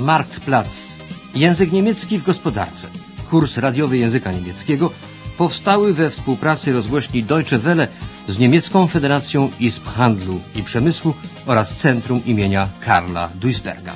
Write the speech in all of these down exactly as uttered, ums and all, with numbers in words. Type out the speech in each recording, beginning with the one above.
Marktplatz. Język niemiecki w gospodarce. Kurs radiowy języka niemieckiego powstały we współpracy rozgłośni Deutsche Welle z Niemiecką Federacją Izb Handlu i Przemysłu oraz Centrum imienia Karla Duisberga.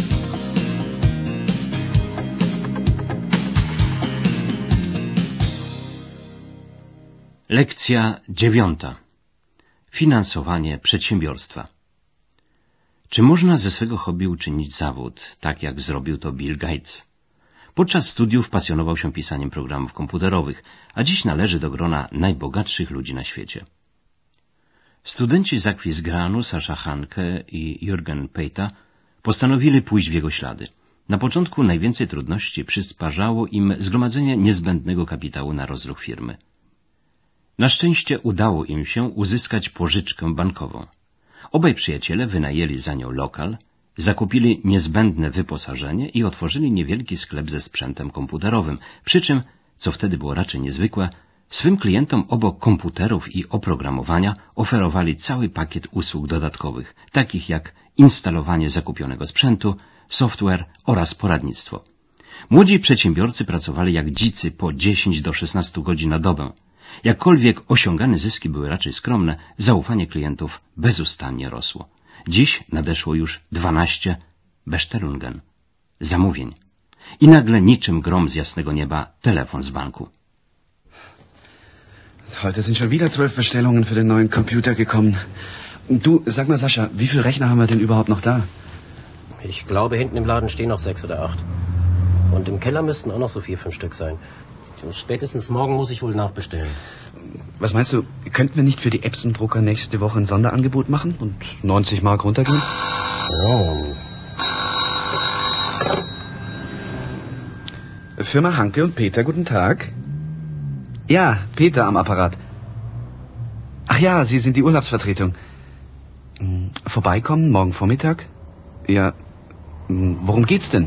Lekcja dziewiąta. Finansowanie przedsiębiorstwa. Czy można ze swego hobby uczynić zawód, tak jak zrobił to Bill Gates? Podczas studiów pasjonował się pisaniem programów komputerowych, a dziś należy do grona najbogatszych ludzi na świecie. Studenci z Aquisgranu, Sascha Hanke i Jürgen Pejta postanowili pójść w jego ślady. Na początku najwięcej trudności przysparzało im zgromadzenie niezbędnego kapitału na rozruch firmy. Na szczęście udało im się uzyskać pożyczkę bankową. Obaj przyjaciele wynajęli za nią lokal, zakupili niezbędne wyposażenie i otworzyli niewielki sklep ze sprzętem komputerowym, przy czym, co wtedy było raczej niezwykłe, swym klientom obok komputerów i oprogramowania oferowali cały pakiet usług dodatkowych, takich jak instalowanie zakupionego sprzętu, software oraz poradnictwo. Młodzi przedsiębiorcy pracowali jak dzicy po dziesięć do szesnastu godzin na dobę. Jakkolwiek osiągane zyski były raczej skromne, zaufanie klientów bezustannie rosło. Dziś nadeszło już dwanaście Bestellungen, zamówień. I nagle niczym grom z jasnego nieba telefon z banku. Heute sind schon wieder zwölf Bestellungen für den neuen Computer gekommen. Du, sag mal Sascha, wie viele Rechner haben wir denn überhaupt noch da? Ich glaube, hinten im Laden stehen noch sechs oder acht. Und im Keller müssten auch noch so vier, fünf Stück sein. Spätestens morgen muss ich wohl nachbestellen. Was meinst du, könnten wir nicht für die Epson-Drucker nächste Woche ein Sonderangebot machen und neunzig Mark runtergehen? Oh. Firma Hanke und Peter, guten Tag. Ja, Peter am Apparat. Ach ja, Sie sind die Urlaubsvertretung. Vorbeikommen morgen Vormittag? Ja, worum geht's denn?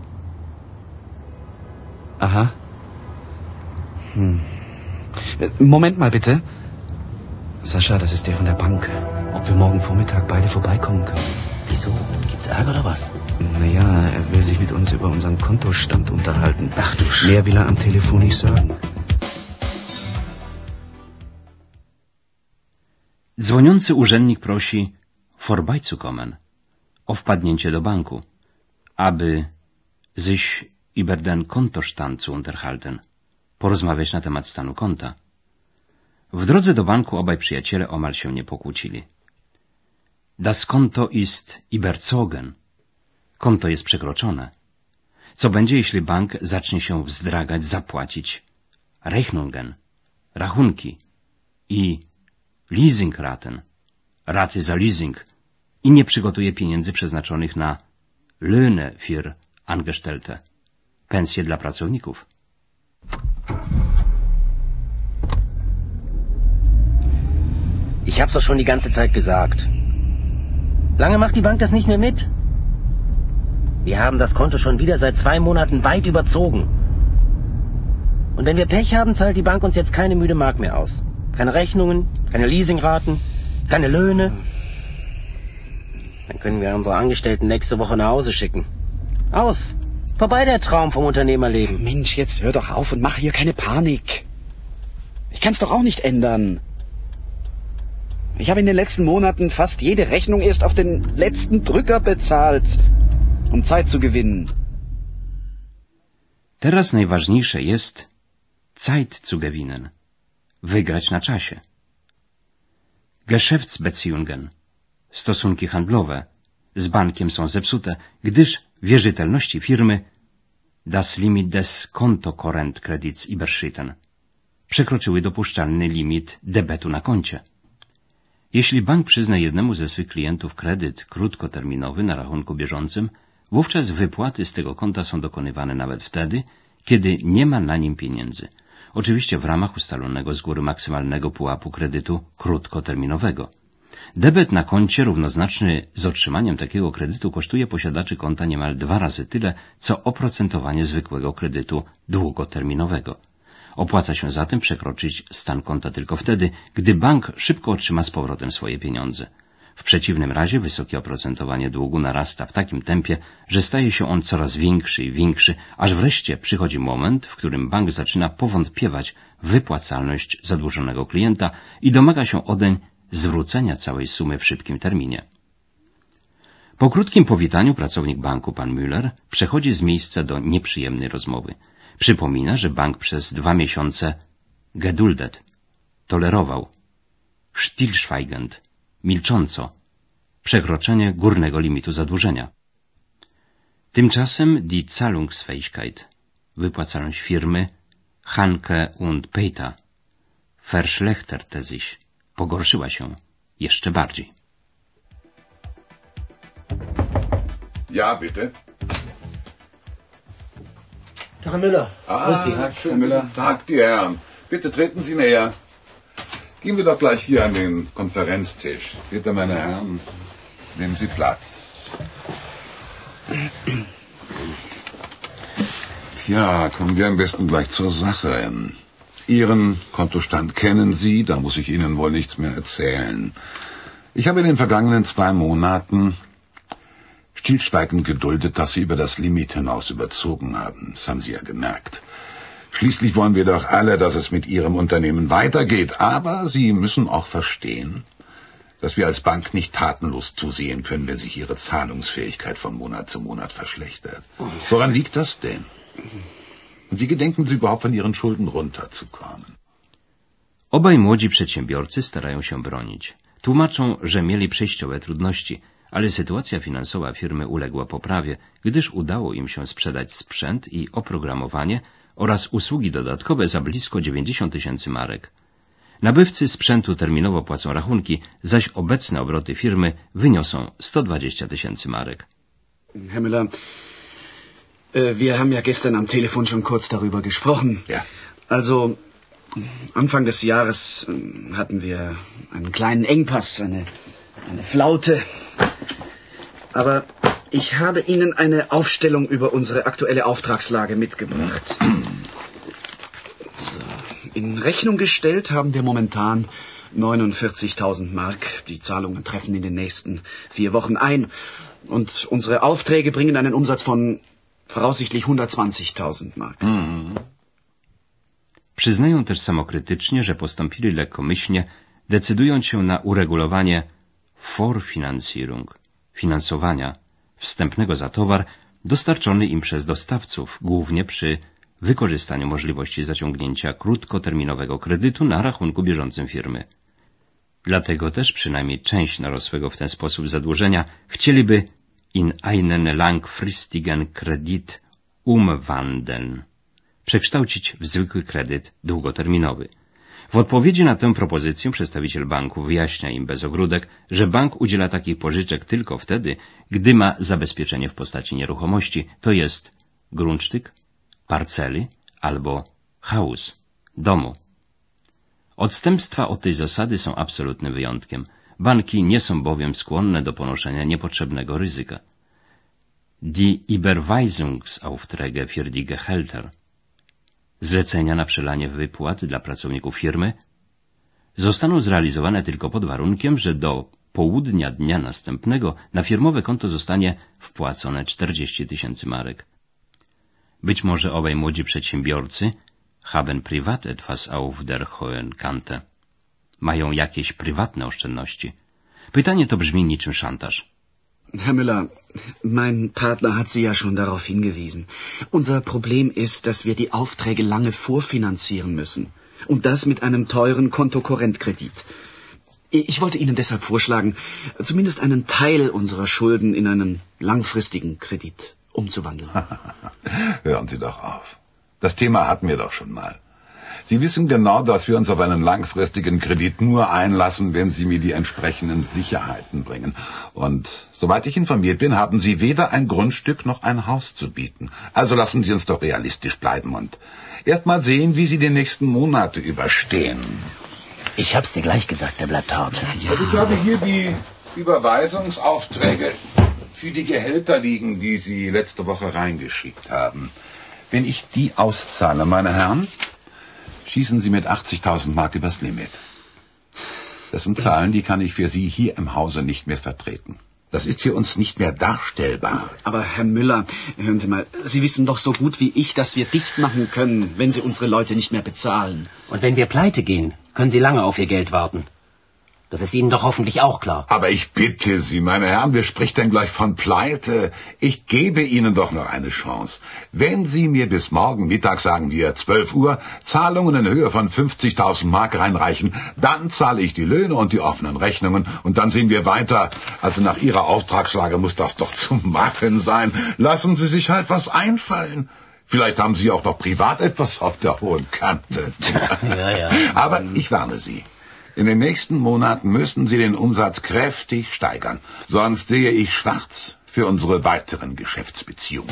Aha. Hm. Moment mal bitte. Sascha, das ist der von der Bank. Ob wir morgen Vormittag beide vorbeikommen können. Wieso? Gibt's Ärger oder was? Naja, er will sich mit uns über unseren Kontostand unterhalten. Ach du Sch... Mehr will er am Telefon nicht sagen. Dzwoniący urzędnik prosi vorbeizukommen, o wpadnięcie do banku, aby sich über den Kontostand zu unterhalten, porozmawiać na temat stanu konta. W drodze do banku obaj przyjaciele omal się nie pokłócili. Das Konto ist überzogen. Konto jest przekroczone. Co będzie, jeśli bank zacznie się wzdragać, zapłacić Rechnungen, rachunki i Leasingraten, raty za leasing i nie przygotuje pieniędzy przeznaczonych na Löhne für Angestellte, pensje dla pracowników. Ich hab's doch schon die ganze Zeit gesagt. Lange macht die Bank das nicht mehr mit. Wir haben das Konto schon wieder seit zwei Monaten weit überzogen. Und wenn wir Pech haben, zahlt die Bank uns jetzt keine müde Mark mehr aus. Keine Rechnungen, keine Leasingraten, keine Löhne. Dann können wir unsere Angestellten nächste Woche nach Hause schicken. Aus. Vorbei der Traum vom Unternehmerleben. Mensch, jetzt hör doch auf und mach hier keine Panik. Ich kann's doch auch nicht ändern. Ich habe in den letzten Monaten fast jede Rechnung erst auf den letzten Drücker bezahlt, um Zeit zu gewinnen. Teraz najważniejsze jest Zeit zu gewinnen. Wygrać na czasie. Geschäftsbeziehungen, stosunki handlowe, z bankiem są zepsute, gdyż wierzytelności firmy das Limit des Kontokorrentkredits überschritten przekroczyły dopuszczalny limit debetu na koncie. Jeśli bank przyzna jednemu ze swych klientów kredyt krótkoterminowy na rachunku bieżącym, wówczas wypłaty z tego konta są dokonywane nawet wtedy, kiedy nie ma na nim pieniędzy. Oczywiście w ramach ustalonego z góry maksymalnego pułapu kredytu krótkoterminowego. Debet na koncie równoznaczny z otrzymaniem takiego kredytu kosztuje posiadaczy konta niemal dwa razy tyle, co oprocentowanie zwykłego kredytu długoterminowego. Opłaca się zatem przekroczyć stan konta tylko wtedy, gdy bank szybko otrzyma z powrotem swoje pieniądze. W przeciwnym razie wysokie oprocentowanie długu narasta w takim tempie, że staje się on coraz większy i większy, aż wreszcie przychodzi moment, w którym bank zaczyna powątpiewać w wypłacalność zadłużonego klienta i domaga się odeń zwrócenia całej sumy w szybkim terminie. Po krótkim powitaniu pracownik banku, pan Müller, przechodzi z miejsca do nieprzyjemnej rozmowy. Przypomina, że bank przez dwa miesiące geduldet, tolerował, stillschweigend, milcząco, przekroczenie górnego limitu zadłużenia. Tymczasem die Zahlungsfähigkeit, wypłacalność firmy Hanke und Peter, verschlechterte sich, pogorszyła się jeszcze bardziej. Ja, bitte. Tag, Herr Müller. Ah, Grüß Sie. Tag, Herr Müller. Tag, die Herren. Bitte treten Sie näher. Gehen wir doch gleich hier an den Konferenztisch. Bitte, meine Herren, nehmen Sie Platz. Ja, kommen wir am besten gleich zur Sache. Ihren Kontostand kennen Sie, da muss ich Ihnen wohl nichts mehr erzählen. Ich habe in den vergangenen zwei Monaten stillschweigend geduldet, dass Sie über das Limit hinaus überzogen haben. Das haben Sie ja gemerkt. Schließlich wollen wir doch alle, dass es mit Ihrem Unternehmen weitergeht. Aber Sie müssen auch verstehen, dass wir als Bank nicht tatenlos zusehen können, wenn sich Ihre Zahlungsfähigkeit von Monat zu Monat verschlechtert. Woran liegt das denn? Und wie gedenken Sie überhaupt, von Ihren Schulden runterzukommen? Obaj młodzi przedsiębiorcy starają się bronić. Tłumaczą, że mieli przejściowe trudności, ale sytuacja finansowa firmy uległa poprawie, gdyż udało im się sprzedać sprzęt i oprogramowanie oraz usługi dodatkowe za blisko dziewięćdziesiąt tysięcy marek. Nabywcy sprzętu terminowo płacą rachunki, zaś obecne obroty firmy wyniosą sto dwadzieścia tysięcy marek. Herr Müller, wir haben ja gestern am Telefon schon kurz darüber gesprochen. Ja. Also, Anfang des Jahres hatten wir einen kleinen Engpass, eine, eine Flaute. Aber ich habe Ihnen eine Aufstellung über unsere aktuelle Auftragslage mitgebracht. So. In Rechnung gestellt haben wir momentan neunundvierzigtausend Mark. Die Zahlungen treffen in den nächsten vier Wochen ein. Und unsere Aufträge bringen einen Umsatz von voraussichtlich hundertzwanzigtausend Mark. Mm. Przyznają też samokrytycznie, że postąpili lekkomyślnie, decydując się na uregulowanie Vorfinanzierung, finansowania wstępnego za towar dostarczony im przez dostawców, głównie przy wykorzystaniu możliwości zaciągnięcia krótkoterminowego kredytu na rachunku bieżącym firmy. Dlatego też przynajmniej część narosłego w ten sposób zadłużenia chcieliby in einen langfristigen Kredit umwandeln, przekształcić w zwykły kredyt długoterminowy. W odpowiedzi na tę propozycję przedstawiciel banku wyjaśnia im bez ogródek, że bank udziela takich pożyczek tylko wtedy, gdy ma zabezpieczenie w postaci nieruchomości, to jest Grundstück, parceli albo Haus, domu. Odstępstwa od tej zasady są absolutnym wyjątkiem. Banki nie są bowiem skłonne do ponoszenia niepotrzebnego ryzyka. Die Überweisungsaufträge für die Gehälter, zlecenia na przelanie wypłat dla pracowników firmy, zostaną zrealizowane tylko pod warunkiem, że do południa dnia następnego na firmowe konto zostanie wpłacone czterdzieści tysięcy marek. Być może obaj młodzi przedsiębiorcy haben privat etwas auf der hohen Kante. Mają jakieś prywatne oszczędności. Pytanie to brzmi niczym szantaż. Herr Müller, mein Partner hat Sie ja schon darauf hingewiesen. Unser Problem ist, dass wir die Aufträge lange vorfinanzieren müssen. Und das mit einem teuren Kontokorrentkredit. Ich wollte Ihnen deshalb vorschlagen, zumindest einen Teil unserer Schulden in einen langfristigen Kredit umzuwandeln. Hören Sie doch auf. Das Thema hatten wir doch schon mal. Sie wissen genau, dass wir uns auf einen langfristigen Kredit nur einlassen, wenn Sie mir die entsprechenden Sicherheiten bringen. Und soweit ich informiert bin, haben Sie weder ein Grundstück noch ein Haus zu bieten. Also lassen Sie uns doch realistisch bleiben und erst mal sehen, wie Sie die nächsten Monate überstehen. Ich hab's dir gleich gesagt, der bleibt hart. Ja. Also ich habe hier die Überweisungsaufträge für die Gehälter liegen, die Sie letzte Woche reingeschickt haben. Wenn ich die auszahle, meine Herren, schießen Sie mit achtzigtausend Mark übers Limit. Das sind Zahlen, die kann ich für Sie hier im Hause nicht mehr vertreten. Das ist für uns nicht mehr darstellbar. Aber Herr Müller, hören Sie mal, Sie wissen doch so gut wie ich, dass wir dicht machen können, wenn Sie unsere Leute nicht mehr bezahlen. Und wenn wir pleite gehen, können Sie lange auf Ihr Geld warten. Das ist Ihnen doch hoffentlich auch klar. Aber ich bitte Sie, meine Herren, wer spricht denn gleich von Pleite? Ich gebe Ihnen doch noch eine Chance. Wenn Sie mir bis morgen Mittag, sagen wir zwölf Uhr, Zahlungen in Höhe von fünfzigtausend Mark reinreichen, dann zahle ich die Löhne und die offenen Rechnungen und dann sehen wir weiter. Also nach Ihrer Auftragslage muss das doch zu machen sein. Lassen Sie sich halt was einfallen. Vielleicht haben Sie auch noch privat etwas auf der hohen Kante. Ja, ja. Aber ich warne Sie. In den nächsten Monaten müssen Sie den Umsatz kräftig steigern, sonst sehe ich schwarz für unsere weiteren Geschäftsbeziehungen.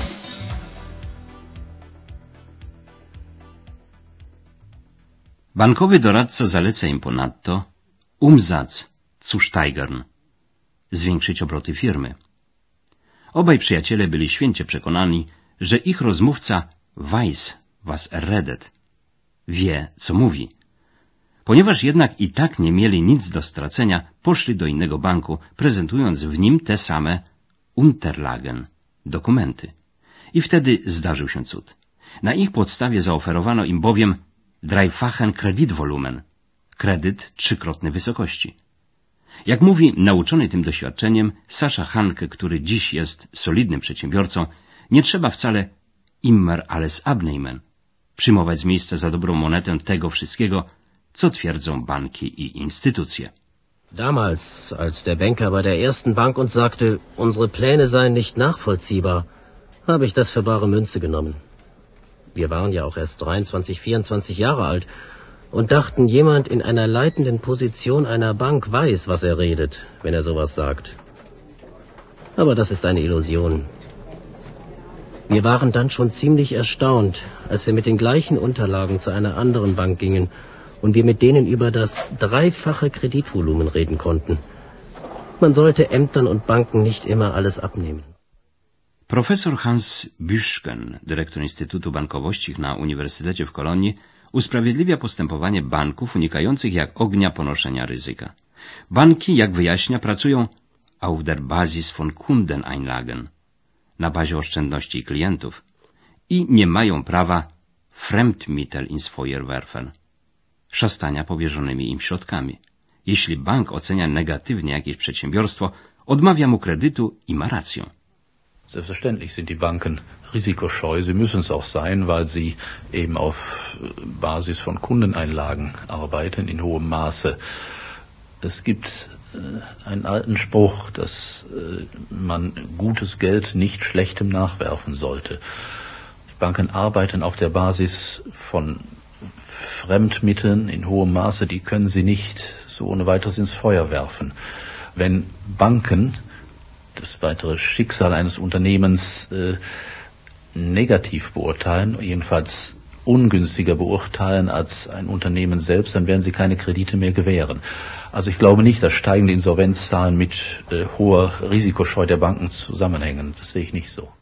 Bankowy doradca zaleca im ponadto Umsatz zu steigern, zwiększyć obroty firmy. Obaj przyjaciele byli święcie przekonani, że ich rozmówca weiß, was er redet, wie, co mówi. Ponieważ jednak i tak nie mieli nic do stracenia, poszli do innego banku, prezentując w nim te same Unterlagen, dokumenty. I wtedy zdarzył się cud. Na ich podstawie zaoferowano im bowiem dreifachen Kreditvolumen, kredyt trzykrotnej wysokości. Jak mówi nauczony tym doświadczeniem Sascha Hanke, który dziś jest solidnym przedsiębiorcą, nie trzeba wcale immer alles abnehmen, przyjmować z miejsca za dobrą monetę tego wszystkiego, co twierdzą banki i instytucje. Damals, als der Banker bei der ersten Bank uns sagte, unsere Pläne seien nicht nachvollziehbar, habe ich das für bare Münze genommen. Wir waren ja auch erst dreiundzwanzig, vierundzwanzig Jahre alt und dachten, jemand in einer leitenden Position einer Bank weiß, was er redet, wenn er sowas sagt. Aber das ist eine Illusion. Wir waren dann schon ziemlich erstaunt, als wir mit den gleichen Unterlagen zu einer anderen Bank gingen und wir mit denen über das dreifache Kreditvolumen reden konnten. Man sollte Ämtern und Banken nicht immer alles abnehmen. Profesor Hans Büschken, dyrektor Instytutu Bankowości na Uniwersytecie w Kolonii, usprawiedliwia postępowanie banków unikających jak ognia ponoszenia ryzyka. Banki, jak wyjaśnia, pracują auf der Basis von Kundeneinlagen, na bazie oszczędności klientów, i nie mają prawa Fremdmittel ins Feuer werfen, szastania powierzonymi im środkami. Jeśli bank ocenia negatywnie jakieś przedsiębiorstwo, odmawia mu kredytu i ma rację. Selbstverständlich sind die Banken risikoscheu. Sie müssen es auch sein, weil sie eben auf Basis von Kundeneinlagen arbeiten in hohem Maße. Es gibt einen alten Spruch, dass man gutes Geld nicht schlechtem nachwerfen sollte. Die Banken arbeiten auf der Basis von Fremdmitteln in hohem Maße, die können sie nicht so ohne weiteres ins Feuer werfen. Wenn Banken das weitere Schicksal eines Unternehmens äh, negativ beurteilen, jedenfalls ungünstiger beurteilen als ein Unternehmen selbst, dann werden sie keine Kredite mehr gewähren. Also ich glaube nicht, dass steigende Insolvenzzahlen mit äh, hoher Risikoscheu der Banken zusammenhängen. Das sehe ich nicht so.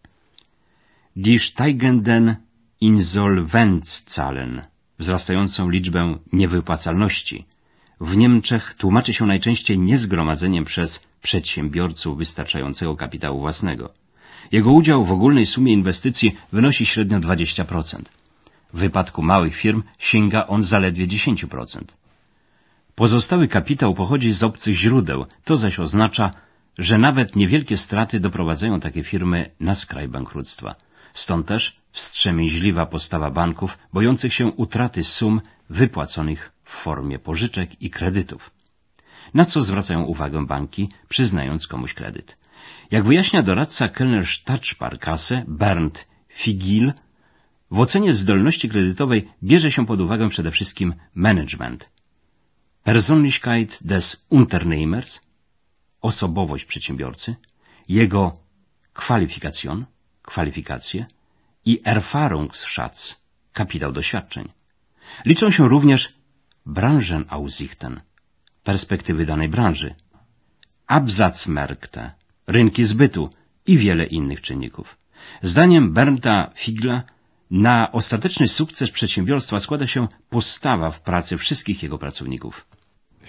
Die steigenden Insolvenzzahlen, wzrastającą liczbę niewypłacalności, w Niemczech tłumaczy się najczęściej niezgromadzeniem przez przedsiębiorców wystarczającego kapitału własnego. Jego udział w ogólnej sumie inwestycji wynosi średnio dwadzieścia procent. W wypadku małych firm sięga on zaledwie dziesięć procent. Pozostały kapitał pochodzi z obcych źródeł, to zaś oznacza, że nawet niewielkie straty doprowadzają takie firmy na skraj bankructwa. Stąd też wstrzemięźliwa postawa banków, bojących się utraty sum wypłaconych w formie pożyczek i kredytów. Na co zwracają uwagę banki, przyznając komuś kredyt? Jak wyjaśnia doradca Kölner Stadtsparkasse Bernd Figil, w ocenie zdolności kredytowej bierze się pod uwagę przede wszystkim management, Persönlichkeit des Unternehmers, osobowość przedsiębiorcy, jego Qualifikation, kwalifikacje i Erfahrungsschatz, kapitał doświadczeń. Liczą się również Branchenaussichten, perspektywy danej branży, Absatzmärkte, rynki zbytu i wiele innych czynników. Zdaniem Bernda Figla na ostateczny sukces przedsiębiorstwa składa się postawa w pracy wszystkich jego pracowników.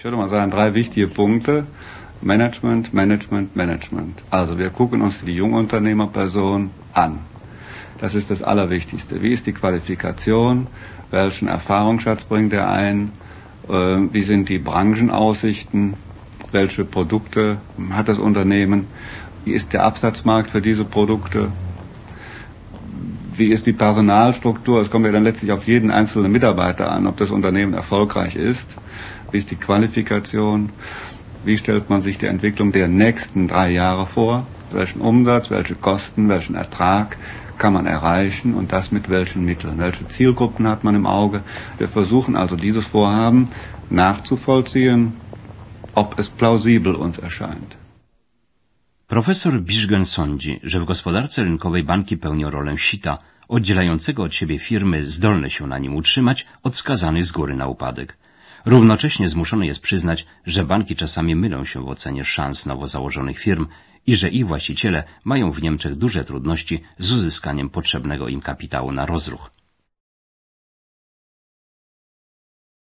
Ich würde mal sagen, drei wichtige Punkte. Management, Management, Management. Also wir gucken uns die Jungunternehmerperson an. Das ist das Allerwichtigste. Wie ist die Qualifikation? Welchen Erfahrungsschatz bringt er ein? Wie sind die Branchenaussichten? Welche Produkte hat das Unternehmen? Wie ist der Absatzmarkt für diese Produkte? Wie ist die Personalstruktur? Es kommt ja dann letztlich auf jeden einzelnen Mitarbeiter an, ob das Unternehmen erfolgreich ist. Wie ist die Qualifikation? Wie stellt man sich die Entwicklung der nächsten drei Jahre vor? Welchen Umsatz, welche Kosten, welchen Ertrag kann man erreichen und das mit welchen Mitteln? Welche Zielgruppen hat man im Auge? Wir versuchen also dieses Vorhaben nachzuvollziehen, ob es plausibel uns erscheint. Profesor Biszgen sądzi, że w gospodarce rynkowej banki pełnią rolę sita, oddzielającego od siebie firmy zdolne się na nim utrzymać od skazanych z góry na upadek. Równocześnie zmuszony jest przyznać, że banki czasami mylą się w ocenie szans nowo założonych firm i że ich właściciele mają w Niemczech duże trudności z uzyskaniem potrzebnego im kapitału na rozruch.